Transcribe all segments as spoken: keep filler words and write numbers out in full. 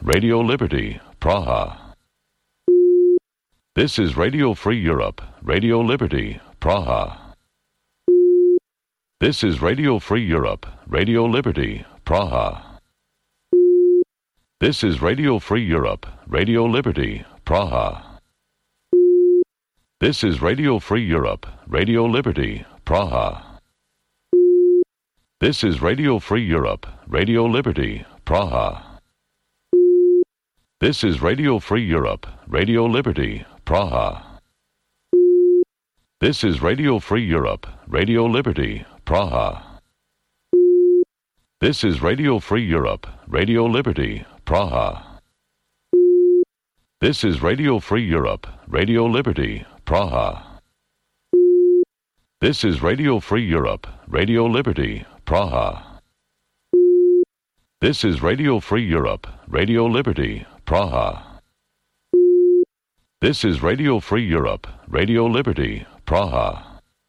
Radio Liberty, Praha. This is Radio Free Europe, Radio Liberty, Praha. This is Radio Free Europe, Radio Liberty, Praha. This is Radio Free Europe, Radio Liberty, Praha. This is Radio Free Europe, Radio Liberty, Praha. This is Radio Free Europe, Radio Liberty, Praha. This is Radio Free Europe, Radio Liberty, Praha. This is Radio Free Europe, Radio Liberty, Praha. This is Radio Free Europe, Radio Liberty, Praha. This is Radio Free Europe, Radio Liberty, Praha. This is Radio Free Europe, Radio Liberty, Praha. This is Radio Free Europe, Radio Liberty, Praha. This is Radio Free Europe, Radio Liberty, Praha.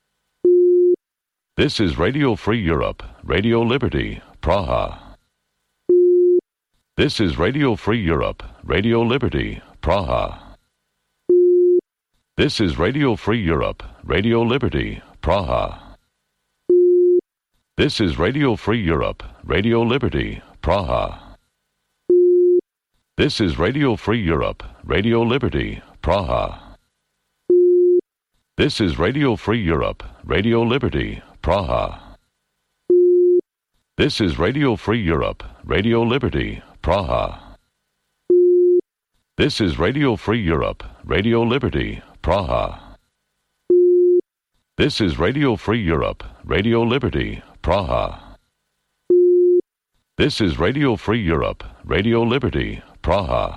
This is Radio Free Europe, Radio Liberty, Praha. This is Radio Free Europe, Radio Liberty, Praha. This is Radio Free Europe, Radio Liberty, Praha. This is Radio Free Europe, Radio Liberty, Praha. This is Radio Free Europe, Radio Liberty, Praha. This is Radio Free Europe, Radio Liberty, Praha. This is Radio Free Europe, Radio Liberty, Praha. This is Radio Free Europe, Radio Liberty, Praha. This is Radio Free Europe, Radio Liberty, Praha. This is Radio Free Europe, Radio Liberty, Praha.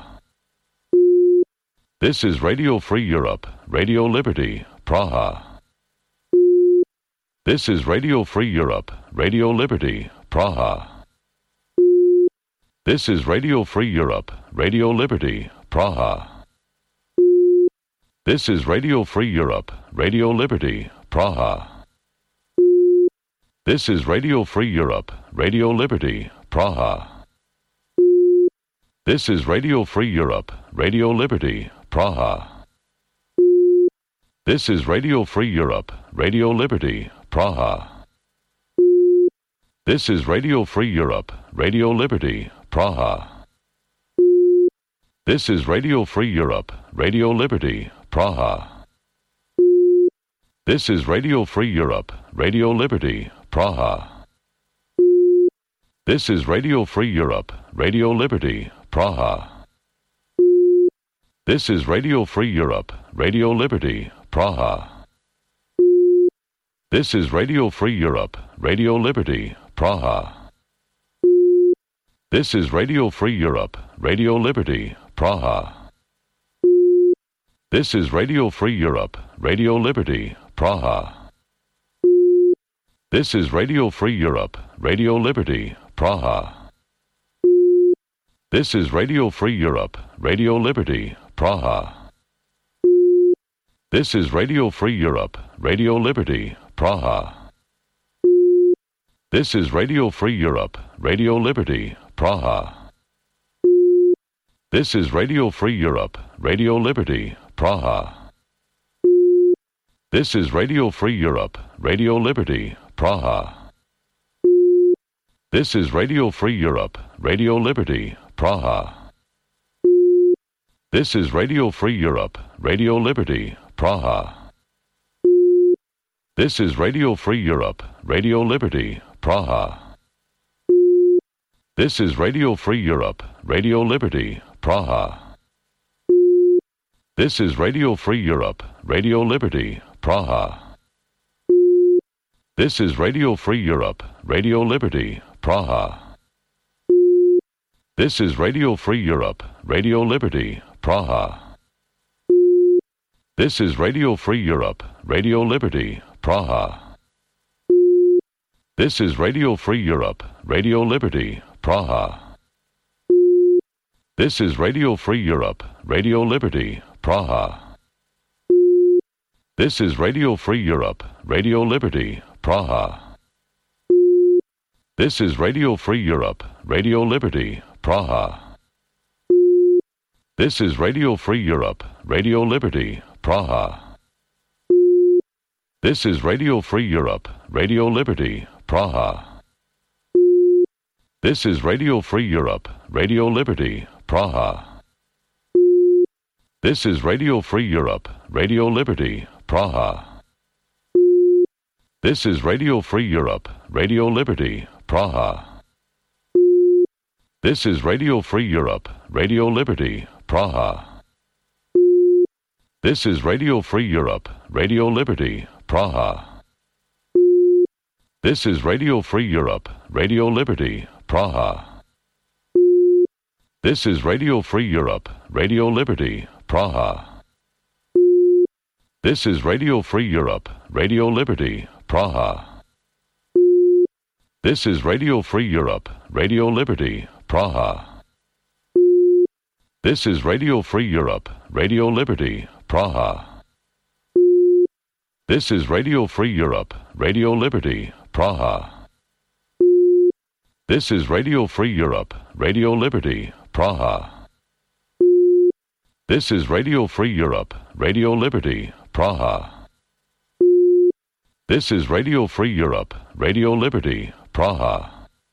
This is Radio Free Europe, Radio Liberty, Praha. This is Radio Free Europe, Radio Liberty, Praha. This is Radio Free Europe, Radio Liberty, Praha. This is Radio Free Europe, Radio Liberty, Praha. This is Radio Free Europe, Radio Liberty, Praha. This is Radio Free Europe, Radio Liberty, Praha. This is Radio Free Europe, Radio Liberty, Praha. This is Radio Free Europe, Radio Liberty, Praha. This is Radio Free Europe, Radio Liberty, Praha. This is Radio Free Europe, Radio Liberty, Praha. This is Radio Free Europe, Radio Liberty, Praha. This is Radio Free Europe, Radio Liberty, Praha. This is Radio Free Europe, Radio Liberty, Praha. This is Radio Free Europe, Radio Liberty, Praha. This is Radio Free Europe, Radio Liberty, Praha. This is Radio Free Europe, Radio Liberty, Praha. This is Radio Free Europe, Radio Liberty, Praha. This is Radio Free Europe, Radio Liberty, Praha. This is Radio Free Europe, Radio Liberty, Praha. This is Radio Free Europe, Radio Liberty, Praha. This is Radio Free Europe, Radio Liberty, Praha. This is Radio Free Europe, Radio Liberty, Praha. This is Radio Free Europe, Radio Liberty, Praha. This is Radio Free Europe, Radio Liberty, Praha. This is Radio Free Europe, Radio Liberty, Praha. This is Radio Free Europe, Radio Liberty, Praha. This is Radio Free Europe, Radio Liberty, Praha. This is Radio Free Europe, Radio Liberty, Praha. This is Radio Free Europe, Radio Liberty, Praha. This is Radio Free Europe, Radio Liberty, Praha. This is Radio Free Europe, Radio Liberty, Praha. This is Radio Free Europe, Radio Liberty, Praha. This is Radio Free Europe, Radio Liberty, Praha. This is Radio Free Europe, Radio Liberty, Praha. This is Radio Free Europe, Radio Liberty, Praha. This is Radio Free Europe, Radio Liberty, Praha. This is Radio Free Europe, Radio Liberty, Praha. This is Radio Free Europe, Radio Liberty, Praha. This is Radio Free Europe, Radio Liberty, Praha. This is Radio Free Europe, Radio Liberty, Praha. This is Radio Free Europe, Radio Liberty, Praha. This is Radio Free Europe, Radio Liberty, Praha. This is Radio Free Europe, Radio Liberty, Praha. This is Radio Free Europe, Radio Liberty, Praha. This is Radio Free Europe, Radio Liberty, Praha. This is Radio Free Europe, Radio Liberty, Praha. This is Radio Free Europe, Radio Liberty, Praha. This is Radio Free Europe, Radio Liberty, Praha. This is Radio Free Europe, Radio Liberty, Praha.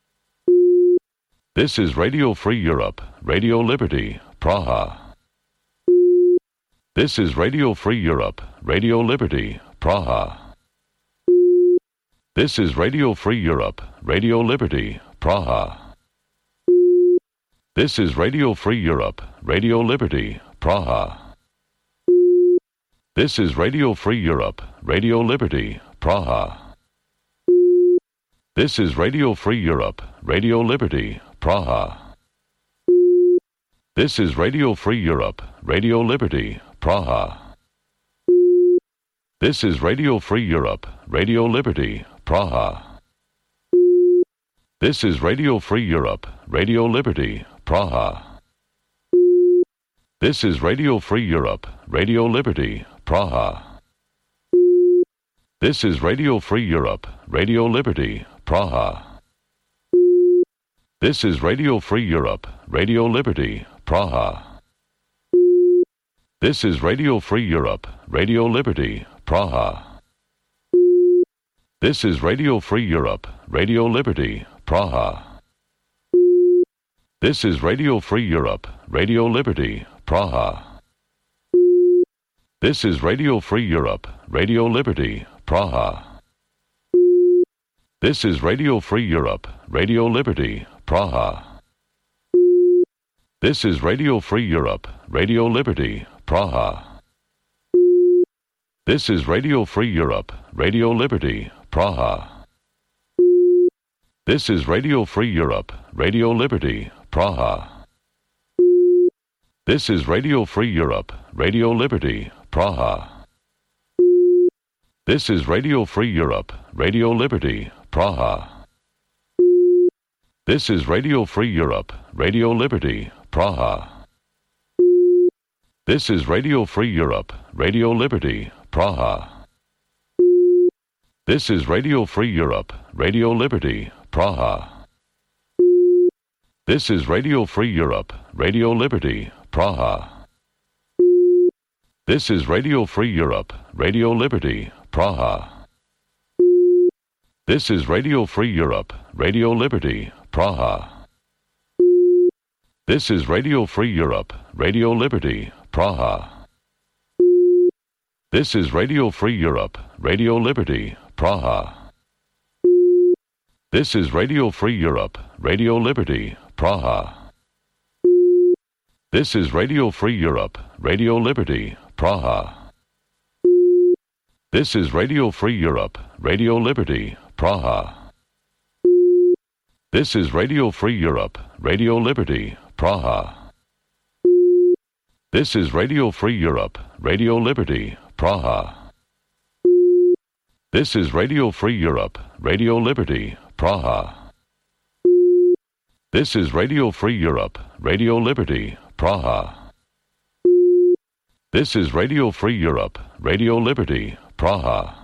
This is Radio Free Europe, Radio Liberty, Praha. This is Radio Free Europe, Radio Liberty, Praha. This is Radio Free Europe, Radio Liberty, Praha. This is Radio Free Europe, Radio Liberty, Praha. This is Radio Free Europe, Radio Liberty, Praha. This is Radio Free Europe, Radio Liberty, Praha. This is Radio Free Europe, Radio Liberty, Praha. This is Radio Free Europe, Radio Liberty, Praha. This is Radio Free Europe, Radio Liberty, Praha. This is Radio Free Europe, Radio Liberty, Praha. This is Radio Free Europe, Radio Liberty, Praha. This is Radio Free Europe, Radio Liberty, Praha. This is Radio Free Europe, Radio Liberty, Praha. This is Radio Free Europe, Radio Liberty, Praha. This is Radio Free Europe, Radio Liberty, Praha. This is Radio Free Europe, Radio Liberty, Praha. This is Radio Free Europe, Radio Liberty, Praha. This is Radio Free Europe, Radio Liberty, Praha. This is Radio Free Europe, Radio Liberty, Praha. This is Radio Free Europe, Radio Liberty, Praha. This is Radio Free Europe, Radio Liberty, Praha. This is Radio Free Europe, Radio Liberty, Praha. This is Radio Free Europe, Radio Liberty, Praha. This is Radio Free Europe, Radio Liberty, Praha. This is Radio Free Europe, Radio Liberty, Praha. This is Radio Free Europe, Radio Liberty, Praha. This is Radio Free Europe, Radio Liberty, Praha. This is Radio Free Europe, Radio Liberty, Praha. This is Radio Free Europe, Radio Liberty, Praha. This is Radio Free Europe, Radio Liberty, Praha. This is Radio Free Europe, Radio Liberty, Praha. This is Radio Free Europe, Radio Liberty, Praha. This is Radio Free Europe, Radio Liberty, Praha. This is Radio Free Europe, Radio Liberty, Praha. This is Radio Free Europe, Radio Liberty, Praha. This is Radio Free Europe, Radio Liberty, Praha. This is Radio Free Europe, Radio Liberty, Praha. This is Radio Free Europe, Radio Liberty, Praha.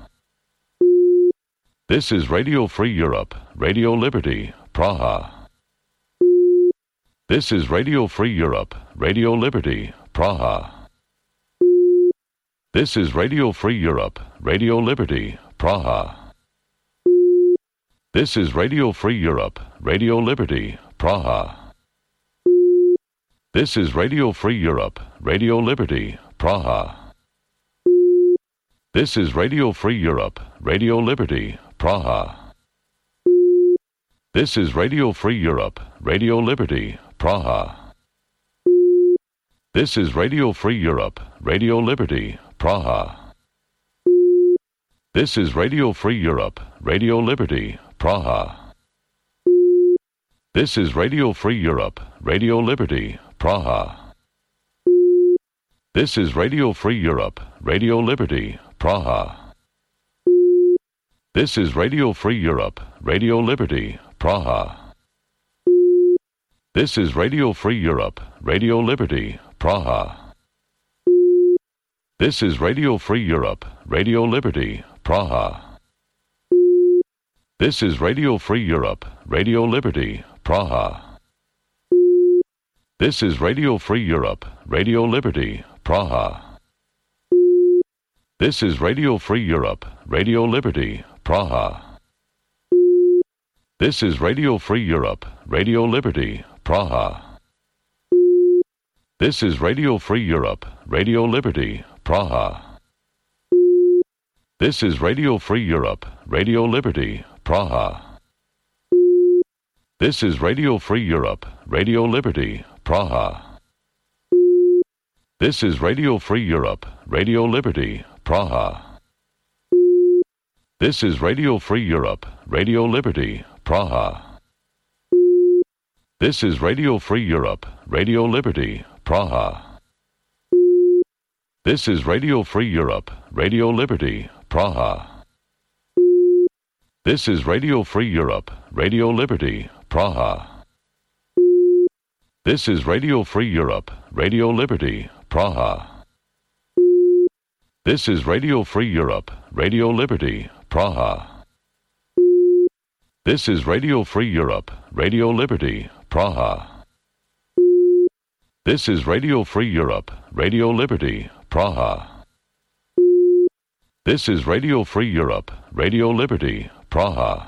This is Radio Free Europe, Radio Liberty, Praha. This is Radio Free Europe, Radio Liberty, Praha. This is Radio Free Europe, Radio Liberty, Praha. This is Radio Free Europe, Radio Liberty, Praha. This is Radio Free Europe, Radio Liberty, Praha. This is Radio Free Europe, Radio Liberty, Praha. This is Radio Free Europe, Radio Liberty, Praha. This is Radio Free Europe, Radio Liberty, Praha. This is Radio Free Europe, Radio Liberty, Praha. This is Radio Free Europe, Radio Liberty, Praha. This is Radio Free Europe, Radio Liberty, Praha. This is Radio Free Europe, Radio Liberty, Praha. This is Radio Free Europe, Radio Liberty, Praha. This is Radio Free Europe, Radio Liberty, Praha. This is Radio Free Europe, Radio Liberty, Praha. This is Radio Free Europe, Radio Liberty, Praha. This is Radio Free Europe, Radio Liberty, Praha. This is Radio Free Europe, Radio Liberty, Praha. This is Radio Free Europe, Radio Liberty, Praha. This is Radio Free Europe, Radio Liberty, Praha. This is Radio Free Europe, Radio Liberty, Praha. This is Radio Free Europe, Radio Liberty, Praha. This is Radio Free Europe, Radio Liberty, Praha. This is Radio Free Europe, Radio Liberty, Praha. This is Radio Free Europe, Radio Liberty, Praha. This is Radio Free Europe, Radio Liberty, Praha. This is Radio Free Europe, Radio Liberty, Praha. This is Radio Free Europe, Radio Liberty, Praha. This is Radio Free Europe, Radio Liberty, Praha. This is Radio Free Europe, Radio Liberty, Praha. This is Radio Free Europe, Radio Liberty, Praha.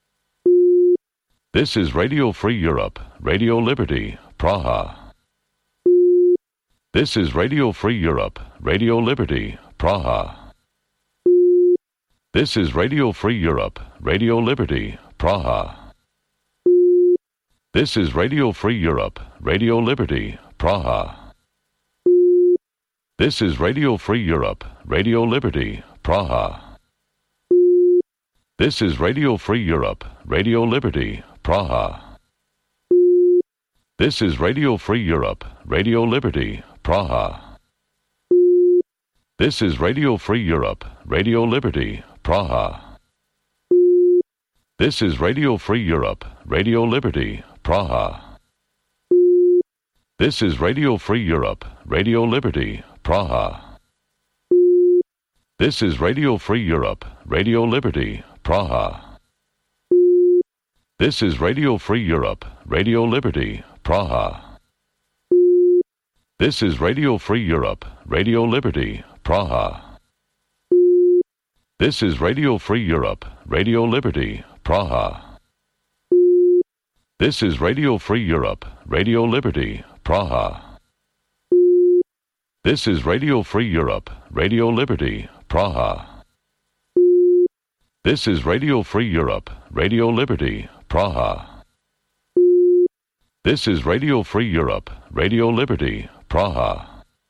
This is Radio Free Europe, Radio Liberty, Praha. This is Radio Free Europe, Radio Liberty, Praha. This is Radio Free Europe, Radio Liberty, Praha. This is Radio Free Europe, Radio Liberty, Praha. This is Radio Free Europe, Radio Liberty, Praha. This is Radio Free Europe, Radio Liberty, Praha. This is Radio Free Europe, Radio Liberty, Praha. This is Radio Free Europe, Radio Liberty, Praha. This is Radio Free Europe, Radio Liberty, Praha. This is Radio Free Europe, Radio Liberty, Praha. This is Radio Free Europe, Radio Liberty, Praha. This is Radio Free Europe, Radio Liberty, Praha. This is Radio Free Europe, Radio Liberty, Praha. This is Radio Free Europe, Radio Liberty, Praha. This is Radio Free Europe, Radio Liberty, Praha. This is Radio Free Europe, Radio Liberty, Praha. This is Radio Free Europe, Radio Liberty, Praha. This is Radio Free Europe, Radio Liberty, Praha.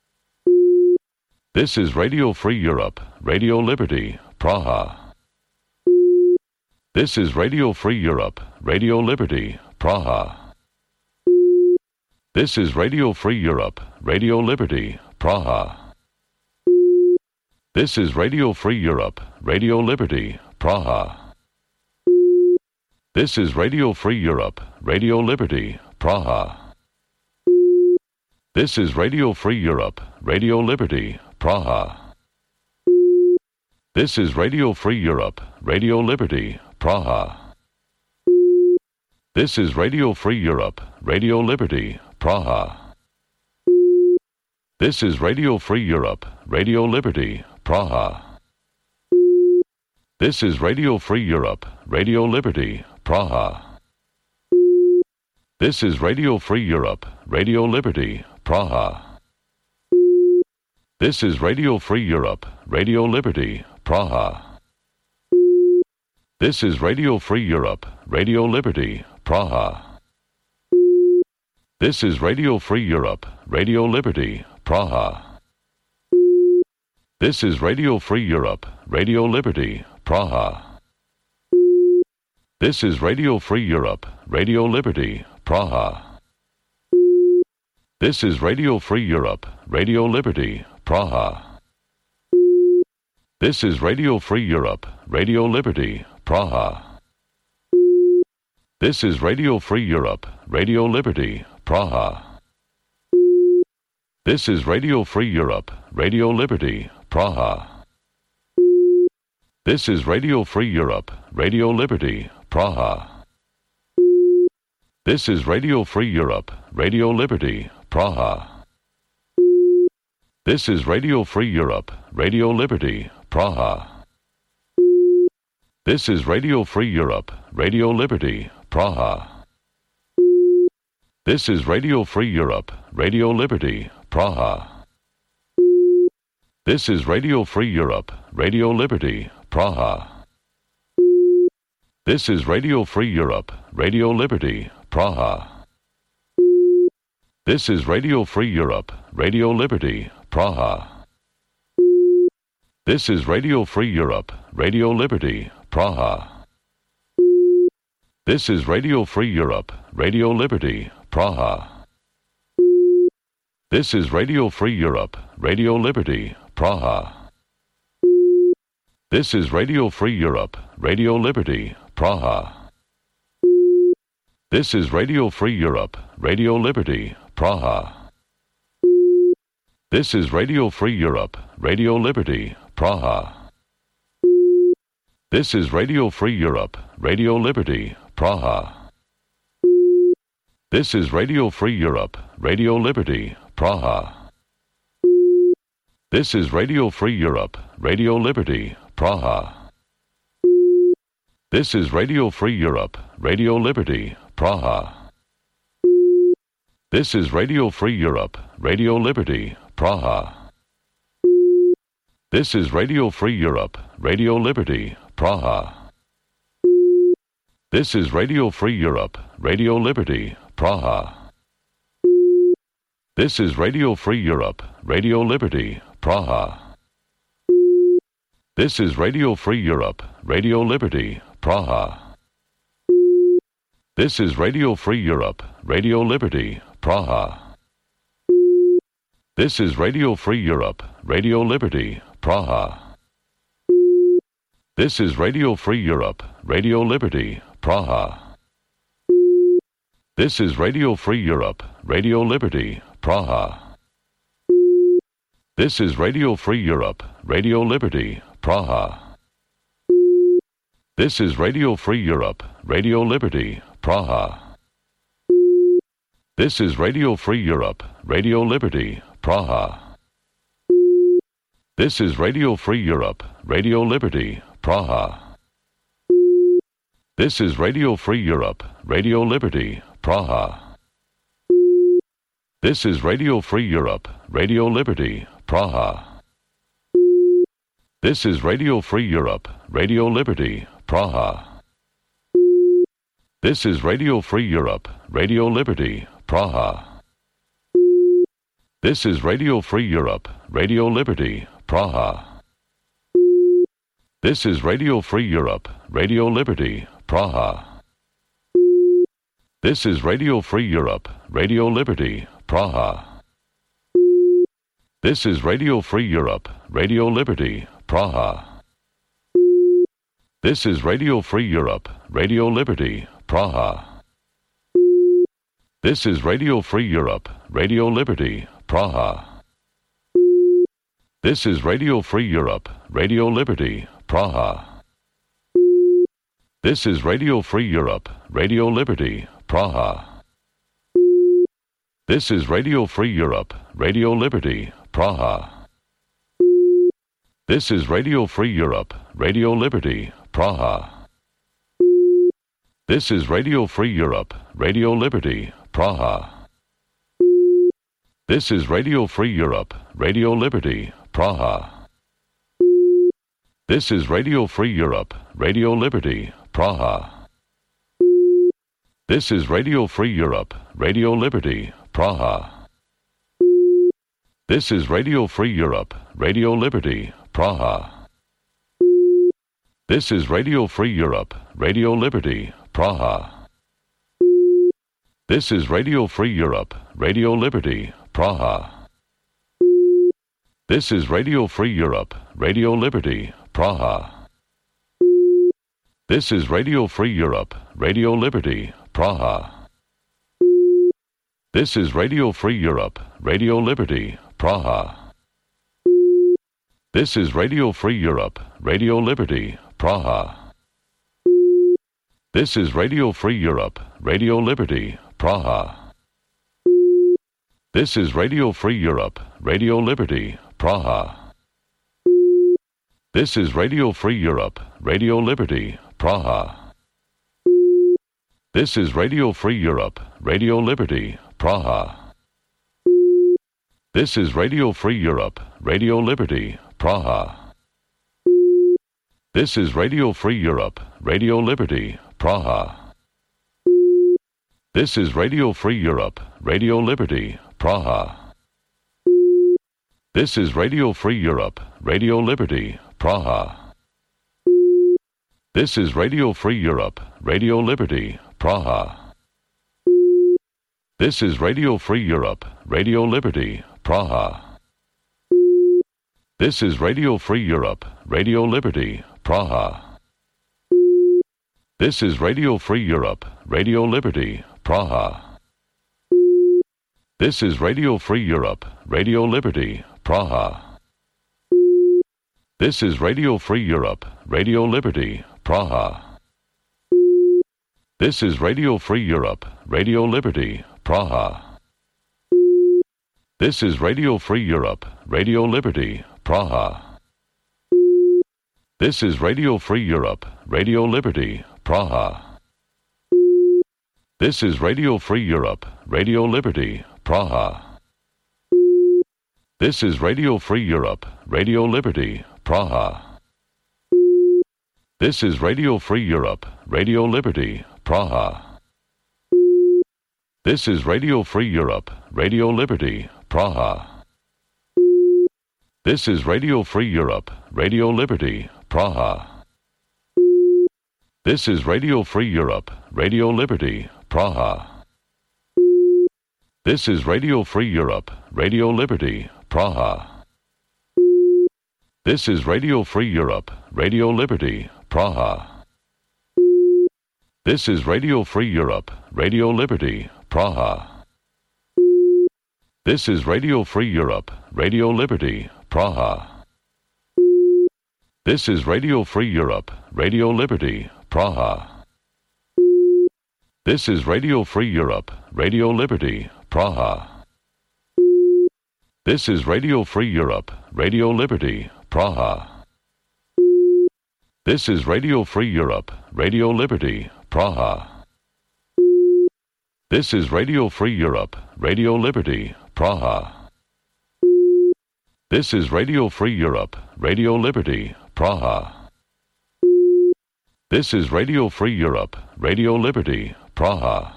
This is Radio Free Europe, Radio Liberty, Praha. This is Radio Free Europe, Radio Liberty, Praha. This is Radio Free Europe, Radio Liberty, Praha. This is Radio Free Europe, Radio Liberty, Praha. This is Radio Free Europe, Radio Liberty, Praha. This is Radio Free Europe, Radio Liberty, Praha. This is Radio Free Europe, Radio Liberty, Praha. This is Radio Free Europe, Radio Liberty, Praha. This is Radio Free Europe, Radio Liberty, Praha. This is Radio Free Europe, Radio Liberty, Praha. This is Radio Free Europe, Radio Liberty, Praha. This is Radio Free Europe, Radio Liberty, Praha. This is Radio Free Europe, Radio Liberty, Praha. This is Radio Free Europe, Radio Liberty, Praha. This is Radio Free Europe, Radio Liberty, Praha. This is Radio Free Europe, Radio Liberty, Praha. This is Radio Free Europe, Radio Liberty, Praha. This is Radio Free Europe, Radio Liberty, Praha. This is Radio Free Europe, Radio Liberty, Praha. This is Radio Free Europe, Radio Liberty, Praha. This is Radio Free Europe, Radio Liberty, Praha. This is Radio Free Europe, Radio Liberty, Praha. This is Radio Free Europe, Radio Liberty, Praha. This is Radio Free Europe, Radio Liberty, Praha. This is Radio Free Europe, Radio Liberty, Praha. This is Radio Free Europe, Radio Liberty, Praha. This is Radio Free Europe, Radio Liberty, Praha. This is Radio Free Europe, Radio Liberty, Praha. This is Radio Free Europe, Radio Liberty, Praha. This is Radio Free Europe, Radio Liberty, Praha. This is Radio Free Europe, Radio Liberty, Praha. This is Radio Free Europe, Radio Liberty, Praha. This is Radio Free Europe, Radio Liberty, Praha. This is Radio Free Europe, Radio Liberty, Praha. This is Radio Free Europe, Radio Liberty, Praha. This is Radio Free Europe, Radio Liberty, Praha. This is Radio Free Europe, Radio Liberty, Praha. This is Radio Free Europe, Radio Liberty, Praha. This is Radio Free Europe, Radio Liberty, Praha. This is Radio Free Europe, Radio Liberty, Praha. This is Radio Free Europe, Radio Liberty, Praha. This is Radio Free Europe, Radio Liberty, Praha. This is Radio Free Europe, Radio Liberty, Praha. This is Radio Free Europe, Radio Liberty, Praha. This is Radio Free Europe, Radio Liberty, Praha. This is Radio Free Europe, Radio Liberty, Praha. This is Radio Free Europe, Radio Liberty, Praha. This is Radio Free Europe, Radio Liberty, Praha. This is Radio Free Europe, Radio Liberty, Praha. This is Radio Free Europe, Radio Liberty, Praha. This is Radio Free Europe, Radio Liberty, Praha. This is Radio Free Europe, Radio Liberty, Praha. This is Radio Free Europe, Radio Liberty, Praha. This is Radio Free Europe, Radio Liberty, Praha. This is Radio Free Europe, Radio Liberty, Praha. This is Radio Free Europe, Radio Liberty, Praha. This is Radio Free Europe, Radio Liberty, Praha. This is Radio Free Europe, Radio Liberty, Praha. This is Radio Free Europe, Radio Liberty, Praha. This is Radio Free Europe, Radio Liberty, Praha. This is Radio Free Europe, Radio Liberty, Praha. This is Radio Free Europe, Radio Liberty, Praha. This is Radio Free Europe, Radio Liberty, Praha. This is Radio Free Europe, Radio Liberty, Praha. This is Radio Free Europe, Radio Liberty, Praha. This is Radio Free Europe, Radio Liberty, Praha. This is Radio Free Europe, Radio Liberty, Praha. This is Radio Free Europe, Radio Liberty, Praha. This is Radio Free Europe, Radio Liberty, Praha. This is Radio Free Europe, Radio Liberty, Praha. This is Radio Free Europe, Radio Liberty, Praha. This is Radio Free Europe, Radio Liberty, Praha. This is Radio Free Europe, Radio Liberty, Praha. This is Radio Free Europe, Radio Liberty, Praha. This is Radio Free Europe, Radio Liberty, Praha. This is Radio Free Europe, Radio Liberty, Praha. This is Radio Free Europe, Radio Liberty, Praha. This is Radio Free Europe, Radio Liberty, Praha. This is Radio Free Europe, Radio Liberty, Praha. This is Radio Free Europe, Radio Liberty, Praha. This is Radio Free Europe, Radio Liberty, Praha. This is Radio Free Europe, Radio Liberty, Praha. This is Radio Free Europe, Radio Liberty, Praha. This is Radio Free Europe, Radio Liberty, Praha. This is Radio Free Europe, Radio Liberty, Praha. This is Radio Free Europe, Radio Liberty, Praha. This is Radio Free Europe, Radio Liberty, Praha. This is Radio Free Europe, Radio Liberty, Praha. This is Radio Free Europe, Radio Liberty, Praha. This is Radio Free Europe, Radio Liberty, Praha. This is Radio Free Europe, Radio Liberty, Praha. This is Radio Free Europe, Radio Liberty, Praha. This is Radio Free Europe, Radio Liberty, Praha. This is Radio Free Europe, Radio Liberty, Praha. This is Radio Free Europe, Radio Liberty, Praha. This is Radio Free Europe, Radio Liberty, Praha. This is Radio Free Europe, Radio Liberty, Praha. This is Radio Free Europe, Radio Liberty, Praha. This is Radio Free Europe, Radio Liberty, Praha. This is Radio Free Europe, Radio Liberty, Praha. This is Radio Free Europe, Radio Liberty, Praha. This is Radio Free Europe, Radio Liberty, Praha. This is Radio Free Europe, Radio Liberty, Praha. This is Radio Free Europe, Radio Liberty, Praha. This is Radio Free Europe, Radio Liberty, Praha. This is Radio Free Europe, Radio Liberty, Praha. This is Radio Free Europe, Radio Liberty, Praha. This is Radio Free Europe, Radio Liberty, Praha. This is Radio Free Europe, Radio Liberty, Praha. This is Radio Free Europe, Radio Liberty, Praha.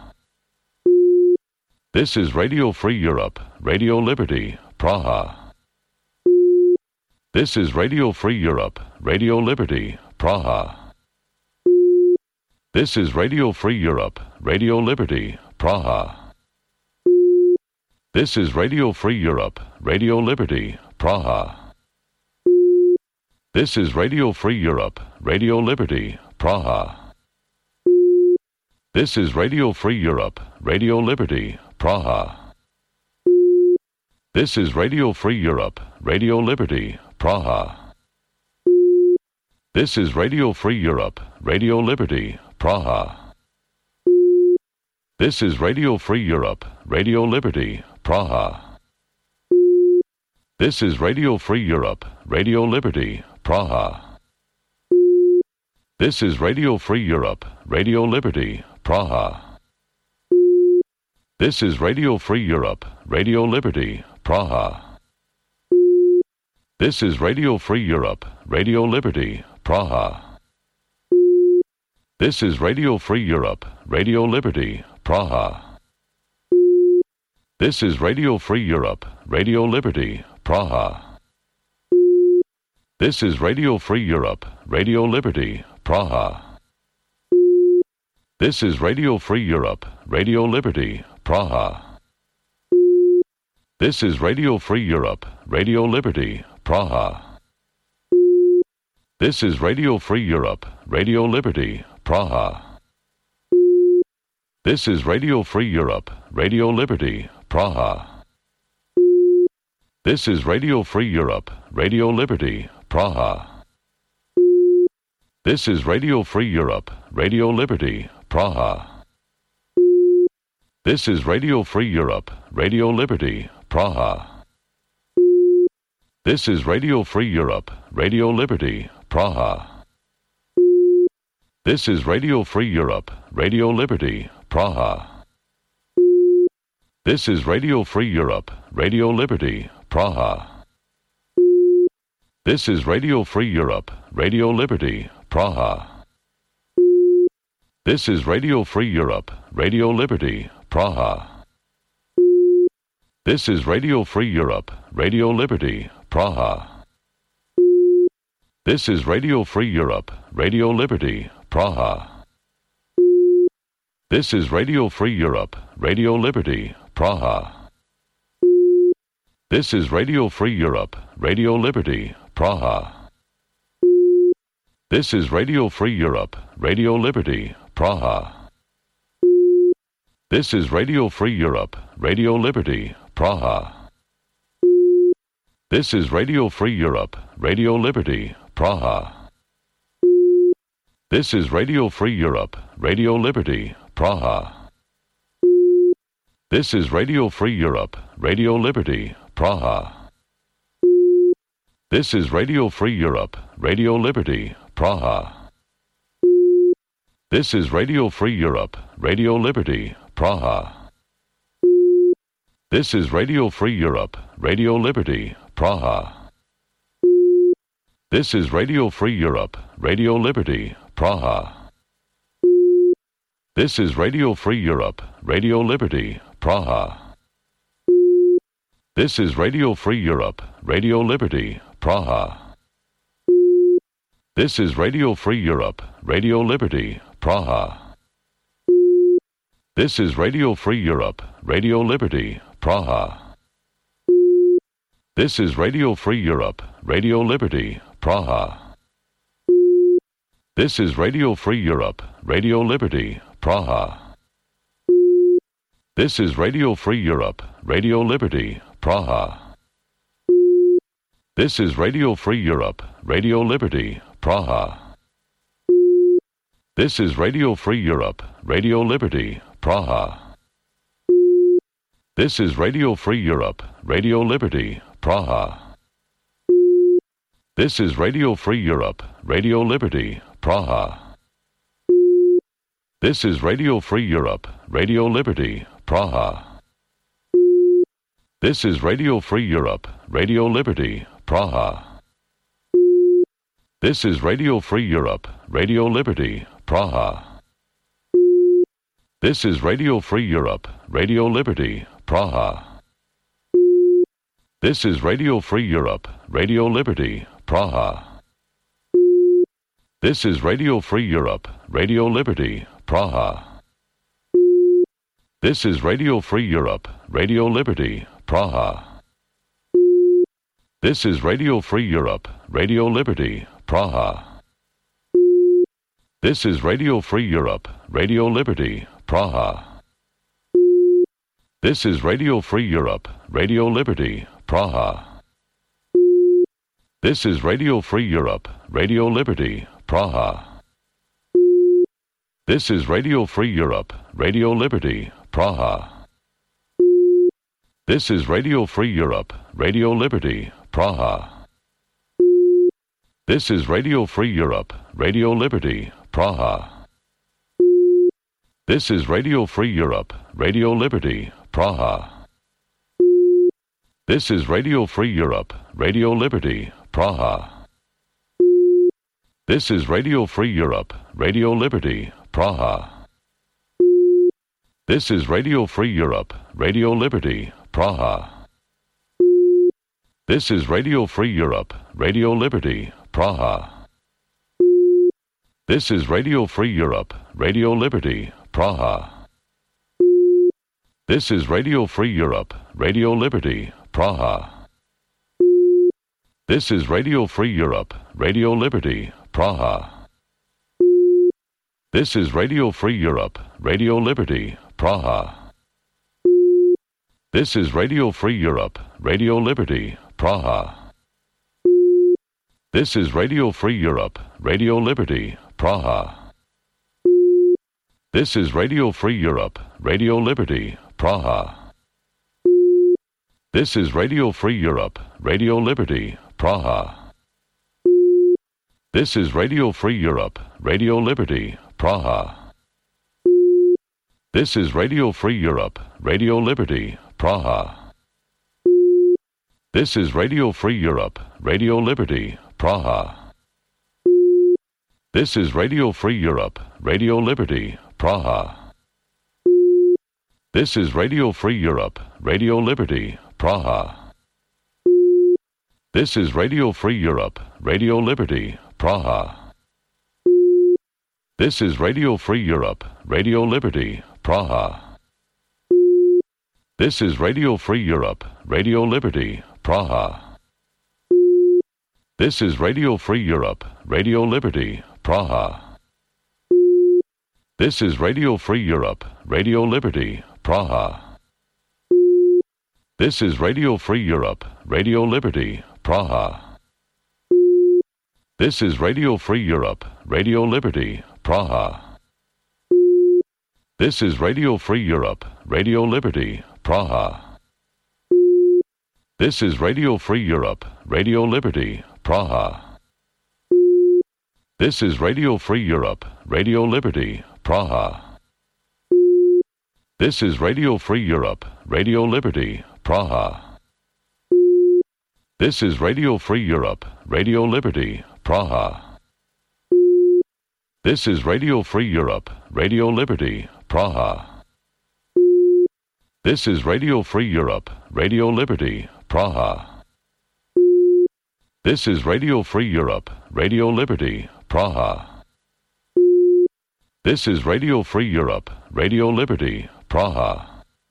This is Radio Free Europe, Radio Liberty, Praha. This is Radio Free Europe, Radio Liberty, Praha. This is Radio Free Europe, Radio Liberty, Praha. This is Radio Free Europe, Radio Liberty, Praha. This is Radio Free Europe, Radio Liberty, Praha. This is Radio Free Europe, Radio Liberty, Praha. This is Radio Free Europe, Radio Liberty, Praha. This is Radio Free Europe, Radio Liberty, Praha. This is Radio Free Europe, Radio Liberty, Praha. This is Radio Free Europe, Radio Liberty, Praha. This is Radio Free Europe, Radio Liberty, Praha. This is Radio Free Europe, Radio Liberty, Praha. This is Radio Free Europe, Radio Liberty, Praha. This is Radio Free Europe, Radio Liberty, Praha. This is Radio Free Europe, Radio Liberty, Praha. This is Radio Free Europe, Radio Liberty, Praha. This is Radio Free Europe, Radio Liberty, Praha. This is Radio Free Europe, Radio Liberty, Praha. This is Radio Free Europe, Radio Liberty, Praha. This is Radio Free Europe, Radio Liberty, Praha. This is Radio Free Europe, Radio Liberty, Praha. This is Radio Free Europe, Radio Liberty, Praha. This is Radio Free Europe, Radio Liberty, Praha. This is Radio Free Europe, Radio Liberty, Praha. This is Radio Free Europe, Radio Liberty, Praha. This is Radio Free Europe, Radio Liberty, Praha. This is Radio Free Europe, Radio Liberty, Praha. This is Radio Free Europe, Radio Liberty, Praha. This is Radio Free Europe, Radio Liberty, Praha. This is Radio Free Europe, Radio Liberty, Praha. This is Radio Free Europe, Radio Liberty, Praha. This is Radio Free Europe, Radio Liberty, Praha. This is Radio Free Europe, Radio Liberty, Praha. This is Radio Free Europe, Radio Liberty, Praha. This is Radio Free Europe, Radio Liberty, Praha. This is Radio Free Europe, Radio Liberty, Praha. This is Radio Free Europe, Radio Liberty, Praha. This is Radio Free Europe, Radio Liberty, Praha. This is Radio Free Europe, Radio Liberty, Praha. This is Radio Free Europe, Radio Liberty, Praha. This is Radio Free Europe, Radio Liberty, Praha. This is Radio Free Europe, Radio Liberty, Praha. This is Radio Free Europe, Radio Liberty, Praha. This is Radio Free Europe, Radio Liberty, Praha. This is Radio Free Europe, Radio Liberty, Praha. This is Radio Free Europe, Radio Liberty, Praha. This is Radio Free Europe, Radio Liberty, Praha. This is Radio Free Europe, Radio Liberty, Praha. This is Radio Free Europe, Radio Liberty, Praha. This is Radio Free Europe, Radio Liberty, Praha. This is Radio Free Europe, Radio Liberty, Praha. This is Radio Free Europe, Radio Liberty, Praha. This is Radio Free Europe, Radio Liberty, Praha. This is Radio Free Europe, Radio Liberty, Praha. This is Radio Free Europe, Radio Liberty, Praha. This is Radio Free Europe, Radio Liberty, Praha. This is Radio Free Europe, Radio Liberty, Praha. This is Radio Free Europe, Radio Liberty, Praha. This is Radio Free Europe, Radio Liberty, Praha. This is Radio Free Europe, Radio Liberty, Praha. This is Radio Free Europe, Radio Liberty, Praha. This is Radio Free Europe, Radio Liberty, Praha. This is Radio Free Europe, Radio Liberty, Praha. This is Radio Free Europe, Radio Liberty, Praha. This is Radio Free Europe, Radio Liberty, Praha. This is Radio Free Europe, Radio Liberty, Praha. This is Radio Free Europe, Radio Liberty, Praha. This is Radio Free Europe, Radio Liberty, Praha. This is Radio Free Europe, Radio Liberty, Praha. This is Radio Free Europe, Radio Liberty, Praha. This is Radio Free Europe, Radio Liberty, Praha. This is Radio Free Europe, Radio Liberty, Praha. This is Radio Free Europe, Radio Liberty, Praha. This is Radio Free Europe, Radio Liberty, Praha. This is Radio Free Europe, Radio Liberty, Praha. This is Radio Free Europe, Radio Liberty, Praha. This is Radio Free Europe, Radio Liberty, Praha. This is Radio Free Europe, Radio Liberty, Praha. This is Radio Free Europe, Radio Liberty, Praha. This is Radio Free Europe, Radio Liberty, Praha. This is Radio Free Europe, Radio Liberty, Praha. This is Radio Free Europe, Radio Liberty, Praha. This is Radio Free Europe, Radio Liberty, Praha. This is Radio Free Europe, Radio Liberty, Praha. This is Radio Free Europe, Radio Liberty, Praha. This is Radio Free Europe, Radio Liberty, Praha. This is Radio Free Europe, Radio Liberty, Praha. This is Radio Free Europe, Radio Liberty, Praha. This is Radio Free Europe, Radio Liberty, Praha. This is Radio Free Europe, Radio Liberty, Praha. This is Radio Free Europe, Radio Liberty, Praha. This is Radio Free Europe, Radio Liberty, Praha. This is Radio Free Europe, Radio Liberty, Praha. This is Radio Free Europe, Radio Liberty, Praha. This is Radio Free Europe, Radio Liberty, Praha. This is Radio Free Europe, Radio Liberty, Praha. This is Radio Free Europe, Radio Liberty, Praha. This is Radio Free Europe, Radio Liberty, Praha. This is Radio Free Europe, Radio Liberty, Praha. This is Radio Free Europe, Radio Liberty, Praha.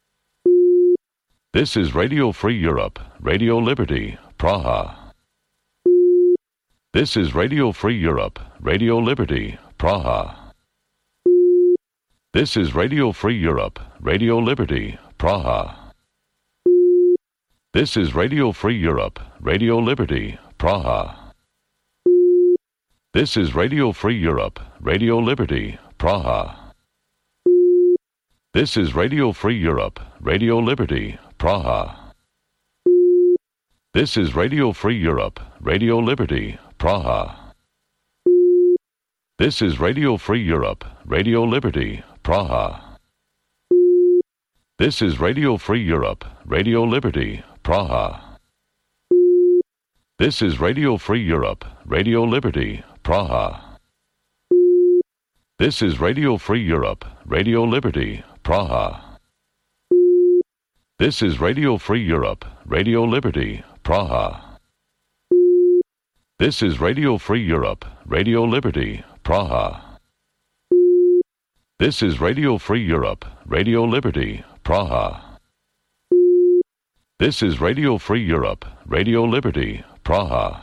This is Radio Free Europe, Radio Liberty, Praha. This is Radio Free Europe, Radio Liberty, Praha. This is Radio Free Europe, Radio Liberty, Praha. This is Radio Free Europe, Radio Liberty, Praha. This is Radio Free Europe, Radio Liberty, Praha. This is Radio Free Europe, Radio Liberty, Praha. This is Radio Free Europe, Radio Liberty, Praha. This is Radio Free Europe, Radio Liberty, Praha. This is Radio Free Europe, Radio Liberty, Praha. This is Radio Free Europe, Radio Liberty, Praha. This is Radio Free Europe, Radio Liberty, Praha. This is Radio Free Europe, Radio Liberty, Praha. This is Radio Free Europe, Radio Liberty, Praha. This is Radio Free Europe, Radio Liberty, Praha. This is Radio Free Europe, Radio Liberty, Praha.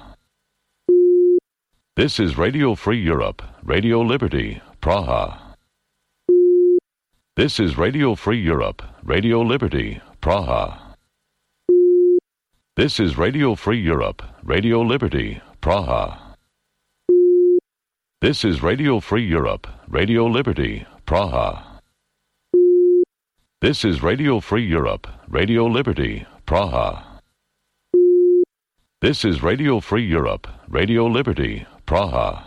This is Radio Free Europe, Radio Liberty, Praha. This is Radio Free Europe, Radio Liberty, Praha. This is Radio Free Europe, Radio Liberty, Praha. This is Radio Free Europe, Radio Liberty, Praha. This is Radio Free Europe, Radio Liberty, Praha. This is Radio Free Europe, Radio Liberty, Praha.